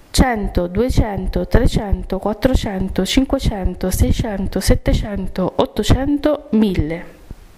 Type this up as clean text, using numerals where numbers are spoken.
100, 200, 300, 400, 500, 600, 700, 800, 1000.